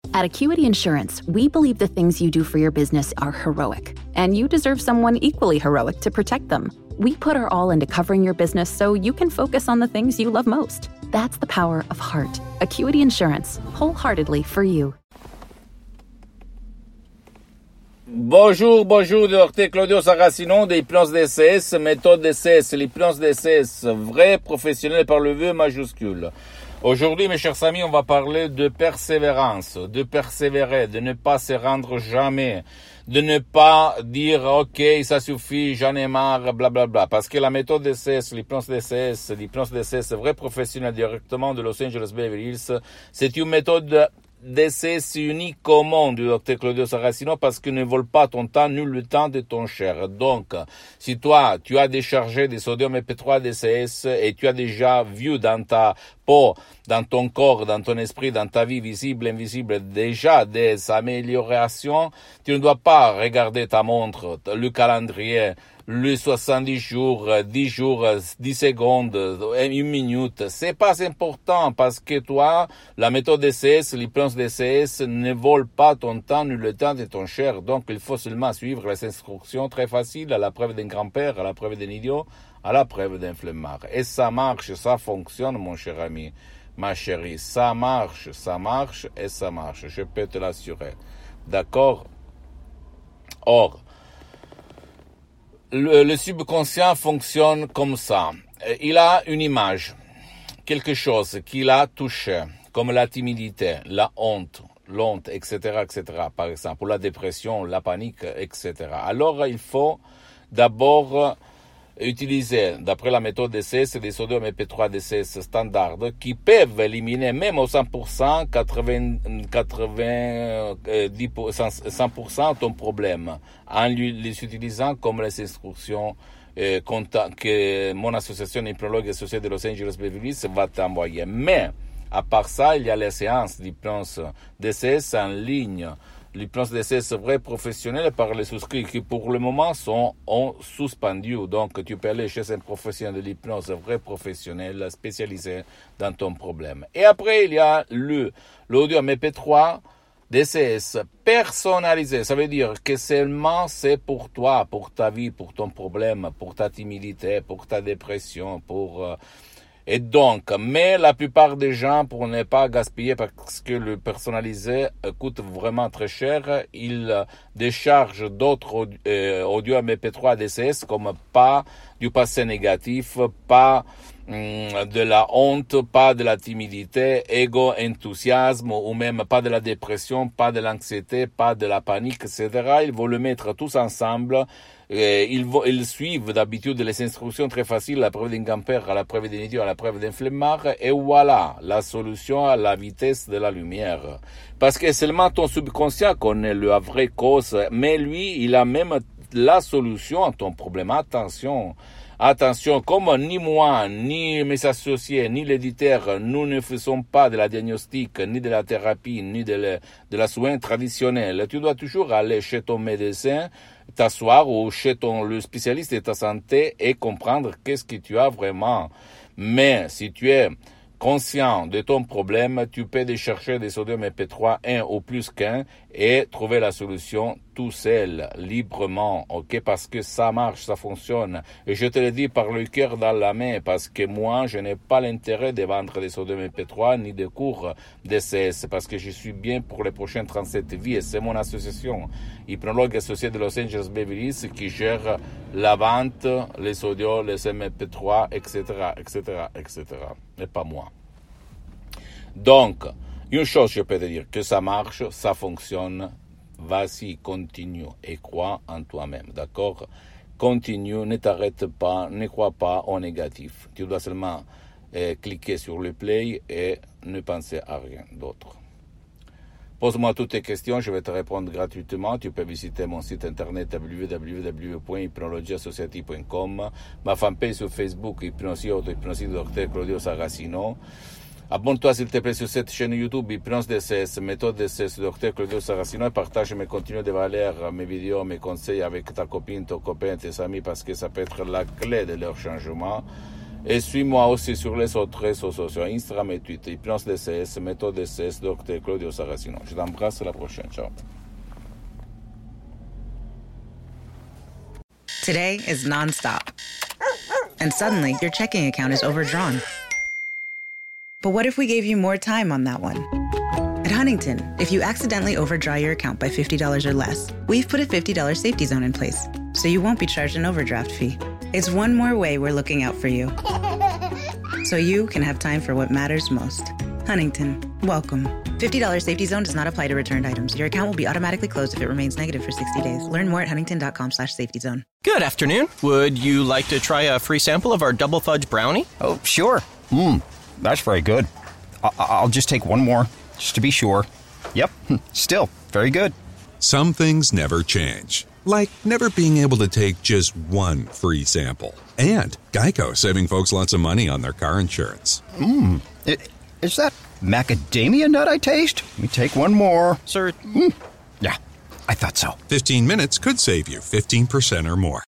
At Acuity Insurance, we believe the things you do for your business are heroic, and you deserve someone equally heroic to protect them. We put our all into covering your business so you can focus on the things you love most. That's the power of heart. Acuity Insurance, wholeheartedly for you. Bonjour, Dr Claudio Saracino de l'hypnose DCS, méthode DCS, l'hypnose DCS, vrai professionnel par le V majuscule. Aujourd'hui, mes chers amis, on va parler de persévérance, de persévérer, de ne pas se rendre jamais, de ne pas dire « Ok, ça suffit, j'en ai marre, blablabla ». Parce que la méthode DCS, l'hypnose DCS, vrai professionnel directement de Los Angeles Beverly Hills, c'est une méthode DCS unique au monde du Dr Claudio Saracino parce qu'il ne vole pas ton temps, nul le temps de ton cher. Donc, si toi, tu as déchargé des sodium EP3 DCS et tu as déjà vu dans ta peau, dans ton corps, dans ton esprit, dans ta vie visible, invisible, déjà des améliorations, tu ne dois pas regarder ta montre, le calendrier, les 70 jours, 10 jours, 10 secondes, 1 minute. C'est pas important parce que toi, la méthode DCS, l'hypnose DCS ne vole pas ton temps ni le temps de ton cher. Donc, il faut seulement suivre les instructions très faciles à la preuve d'un grand-père, à la preuve d'un idiot, à la preuve d'un flemmard. Et ça marche, ça fonctionne, mon cher ami, ma chérie. Ça marche et ça marche. Je peux te l'assurer. D'accord? Or, le subconscient fonctionne comme ça. Il a une image, quelque chose qu'il a touché, comme la timidité, la honte, etc., par exemple, ou la dépression, la panique, etc. Alors, il faut d'abord utiliser, d'après la méthode DCS, des sodium EP3 DCS standard qui peuvent éliminer même au 100%, 100% ton problème en les utilisant comme les instructions que mon association hypnologue associée de Los Angeles Beverly Hills va t'envoyer. Mais, à part ça, il y a les séances d'hypnose DCS en ligne. L'hypnose DCS vrai professionnel par les souscrits qui pour le moment sont suspendus. Donc tu peux aller chez un professionnel de l'hypnose vrai professionnel spécialisé dans ton problème. Et après il y a l'audio MP3 DCS personnalisé. Ça veut dire que seulement c'est pour toi, pour ta vie, pour ton problème, pour ta timidité, pour ta dépression, et donc, mais la plupart des gens, pour ne pas gaspiller, parce que le personnalisé coûte vraiment très cher, ils déchargent d'autres audio MP3 DCS comme pas du passé négatif, pas de la honte, pas de la timidité, enthousiasme, ou même pas de la dépression, pas de l'anxiété, pas de la panique, etc. Ils vont le mettre tous ensemble. Ils suivent d'habitude les instructions très faciles, à la preuve d'un grand-père, à la preuve d'un idiot, à la preuve d'un flemmard, et voilà, la solution à la vitesse de la lumière. Parce que seulement ton subconscient connaît la vraie cause, mais lui, il a même la solution à ton problème. Attention, comme ni moi, ni mes associés, ni l'éditeur, nous ne faisons pas de la diagnostic, ni de la thérapie, ni de la soin traditionnelle. Tu dois toujours aller chez ton médecin, t'asseoir ou chez le spécialiste de ta santé et comprendre qu'est-ce que tu as vraiment. Mais si tu es conscient de ton problème, tu peux décharger des sodium EP3 1 ou plus qu'un et trouver la solution tout seul, librement, ok? Parce que ça marche, ça fonctionne. Et je te le dis par le cœur dans la main, parce que moi, je n'ai pas l'intérêt de vendre des sodium EP3 ni de cours DCS, parce que je suis bien pour les prochaines 37 vies et c'est mon association, hypnologue associé de Los Angeles Beverly Hills, qui gère la vente, les sodium, les MP3, etc., et pas moi. Donc, une chose je peux te dire, que ça marche, ça fonctionne, vas-y, continue et crois en toi-même, d'accord? Continue, ne t'arrête pas, ne crois pas au négatif. Tu dois seulement cliquer sur le play et ne penser à rien d'autre. Pose-moi toutes tes questions, je vais te répondre gratuitement. Tu peux visiter mon site internet www.hypnologieassociative.com, ma fanpage sur Facebook, Hypnosie Auto-Hypnosie Dr Claudio Saracino. Abonne-toi s'il te plaît sur cette chaîne YouTube, Hypnose DCS, méthode DCS, Dr Claudio Saracino, et partage mes contenus de valeur, mes vidéos, mes conseils avec ta copine, ton copain, tes amis, parce que ça peut être la clé de leur changement. Et suis-moi aussi sur les autres réseaux sociaux, Instagram et Twitter, Hypnose DCS, Méthode DCS, Dr Claudio Saracino. Je t'embrasse, à la prochaine. Ciao. Today is nonstop. And suddenly, your checking account is overdrawn. But what if we gave you more time on that one? At Huntington, if you accidentally overdraw your account by $50 or less, we've put a $50 safety zone in place, so you won't be charged an overdraft fee. It's one more way we're looking out for you, so you can have time for what matters most. Huntington, welcome. $50 safety zone does not apply to returned items. Your account will be automatically closed if it remains negative for 60 days. Learn more at huntington.com/safety zone. Good afternoon. Would you like to try a free sample of our double fudge brownie? Oh, sure. That's very good. I'll just take one more, just to be sure. Yep, still very good. Some things never change, like never being able to take just one free sample. And Geico saving folks lots of money on their car insurance. Is that macadamia nut I taste? Let me take one more. Sir? Yeah, I thought so. 15 minutes could save you 15% or more.